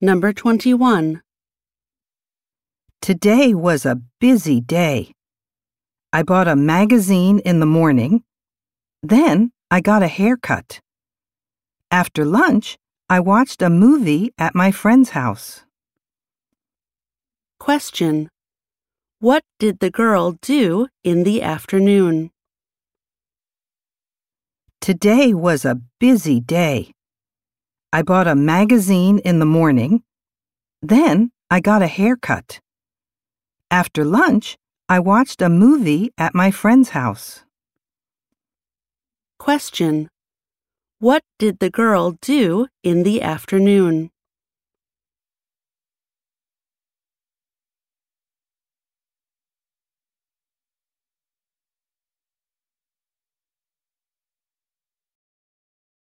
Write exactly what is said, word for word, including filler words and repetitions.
Number twenty-one. Today was a busy day. I bought a magazine in the morning. Then I got a haircut. After lunch, I watched a movie at my friend's house. Question. What did the girl do in the afternoon? Today was a busy day. I bought a magazine in the morning. Then I got a haircut. After lunch, I watched a movie at my friend's house. Question. What did the girl do in the afternoon?